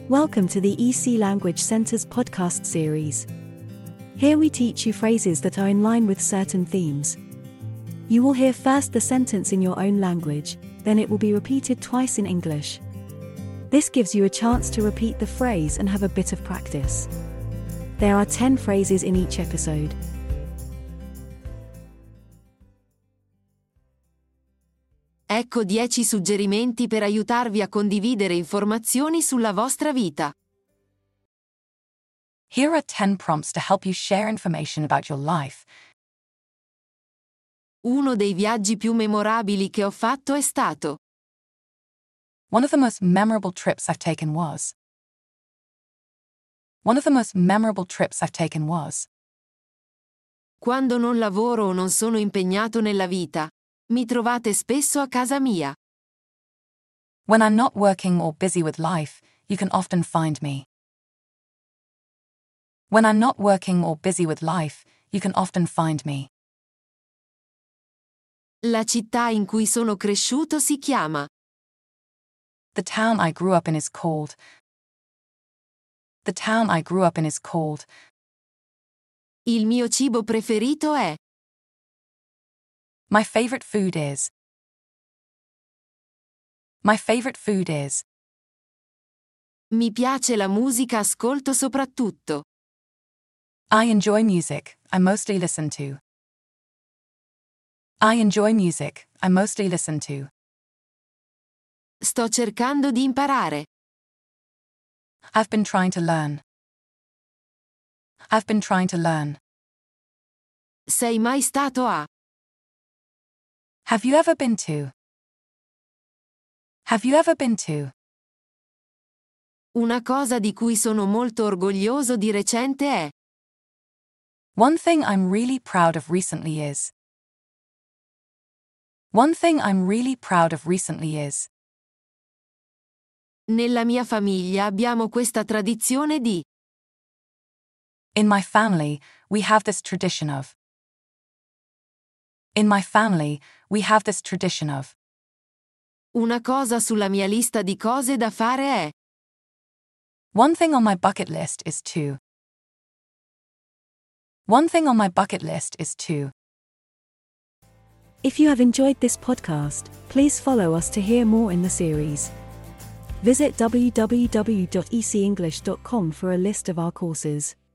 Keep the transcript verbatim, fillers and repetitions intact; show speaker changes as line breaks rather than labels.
Welcome to the E C Language Center's podcast series. Here we teach you phrases that are in line with certain themes. You will hear first the sentence in your own language, then it will be repeated twice in English. This gives you a chance to repeat the phrase and have a bit of practice. There are ten phrases in each episode.
Ecco dieci suggerimenti per aiutarvi a condividere informazioni sulla vostra vita.
Here are ten prompts to help you share information about your life.
Uno dei viaggi più memorabili che ho fatto è stato.
One of the most memorable trips I've taken was. One of the most memorable trips I've taken was.
Quando non lavoro o non sono impegnato nella vita, mi trovate spesso a casa mia.
When I'm not working or busy with life, you can often find me. When I'm not working or busy with life, you can often find me.
La città in cui sono cresciuto si chiama.
The town I grew up in is called. The town I grew up in is called.
Il mio cibo preferito è.
My favorite food is. My favorite food is.
Mi piace la musica, ascolto soprattutto.
I enjoy music, I mostly listen to. I enjoy music, I mostly listen to.
Sto cercando di imparare.
I've been trying to learn. I've been trying to learn.
Sei mai stato a.
Have you ever been to? Have you ever been to?
Una cosa di cui sono molto orgoglioso di recente è.
One thing I'm really proud of recently is. One thing I'm really proud of recently is.
Nella mia famiglia abbiamo questa tradizione di.
In my family, we have this tradition of. In my family, we have this tradition of.
Una cosa sulla mia lista di cose da fare è.
One thing on my bucket list is to. One thing on my bucket list is to.
If you have enjoyed this podcast, please follow us to hear more in the series. Visit w w w dot e c english dot com for a list of our courses.